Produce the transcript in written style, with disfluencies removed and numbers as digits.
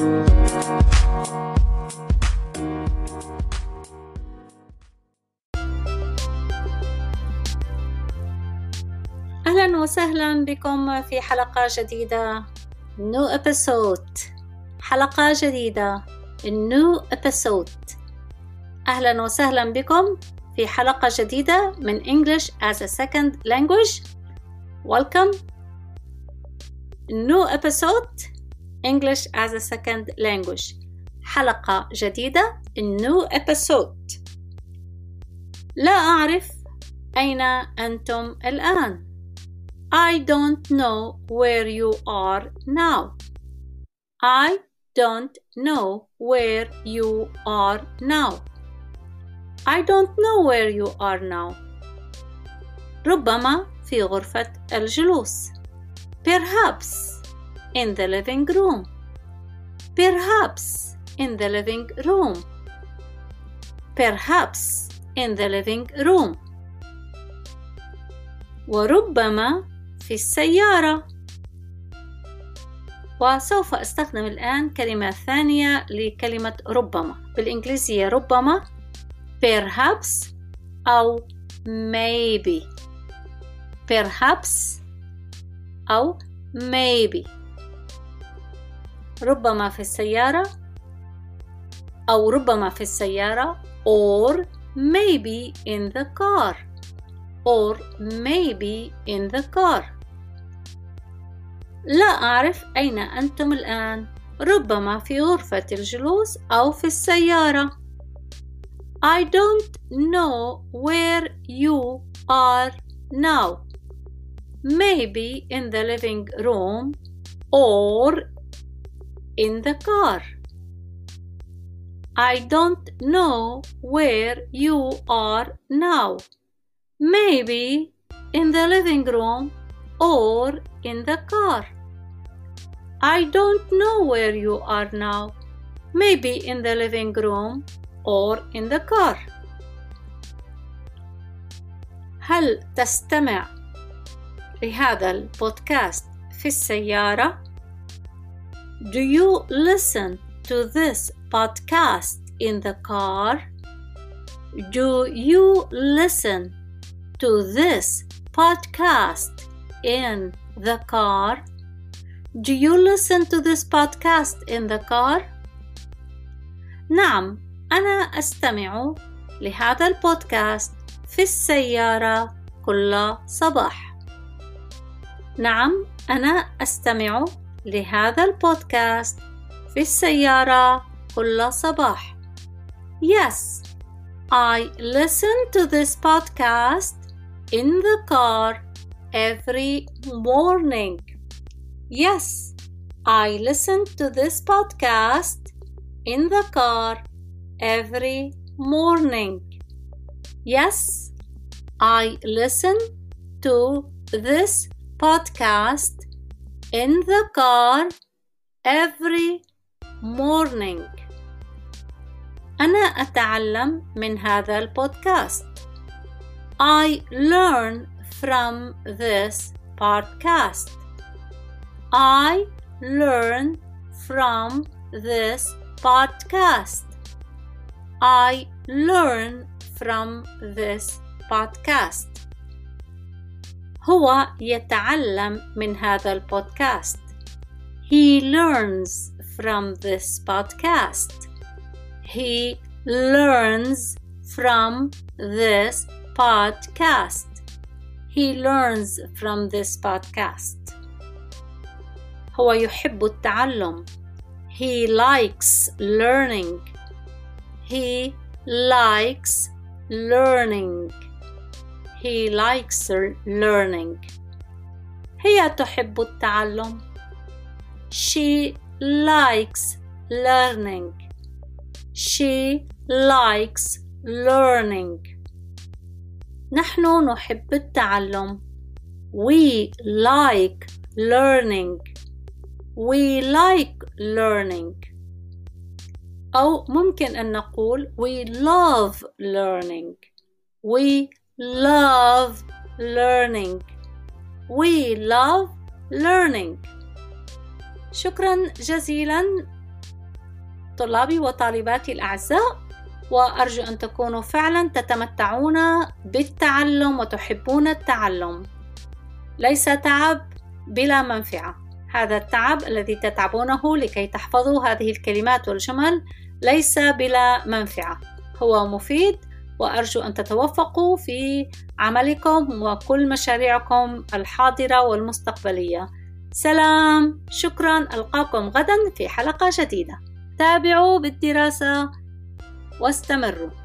أهلا وسهلا بكم في حلقة جديدة. New episode. حلقة جديدة. New episode. أهلا وسهلا بكم في حلقة جديدة من English as a second language. Welcome. New episode. English as a second language. حلقة جديدة. New episode. لا أعرف أين أنتم الآن. I don't know where you are now. I don't know where you are now. I don't know where you are now. ربما في غرفة الجلوس. Perhaps in the living room. Perhaps in the living room. Perhaps in the living room. وربما في السيارة. وسوف أستخدم الآن كلمة ثانية لكلمة ربما. بالإنجليزية ربما perhaps أو maybe. perhaps أو maybe. ربما في السيارة أو ربما في السيارة or maybe in the car. or maybe in the car. لا أعرف أين أنتم الآن. ربما في غرفة الجلوس أو في السيارة. I don't know where you are now. Maybe in the living room or in the car. I don't know where you are now. Maybe in the living room or in the car. I don't know where you are now. Maybe in the living room or in the car. هل تستمع لهذا البودكاست في السيارة؟ Do you listen to this podcast in the car? Do you listen to this podcast in the car? Do you listen to this podcast in the car? نعم، أنا أستمع لهذا البودكاست في السيارة كل صباح. نعم، أنا أستمع لهذا البودكاست في السيارة كل صباح. Yes, I listen to this podcast in the car every morning. Yes, I listen to this podcast in the car every morning. Yes, I listen to this podcast in the car every morning. أنا أتعلم من هذا البودكاست. I learn from this podcast. I learn from this podcast. I learn from this podcast. هو يتعلم من هذا البودكاست. He learns from this podcast. He learns from this podcast. He learns from this podcast. هو يحب التعلم. He likes learning. He likes learning. He likes learning. هي تحب التعلم. She likes learning. She likes learning. نحن نحب التعلم. We like learning. We like learning. أو ممكن أن نقول we love learning. We love learning. We love learning. شكرا جزيلا طلابي وطالباتي الأعزاء، وأرجو أن تكونوا فعلا تتمتعون بالتعلم وتحبون التعلم. ليس تعب بلا منفعة. هذا التعب الذي تتعبونه لكي تحفظوا هذه الكلمات والجمل ليس بلا منفعة، هو مفيد، وأرجو أن تتوفقوا في عملكم وكل مشاريعكم الحاضرة والمستقبلية. سلام، شكرا، ألقاكم غدا في حلقة جديدة. تابعوا بالدراسة واستمروا.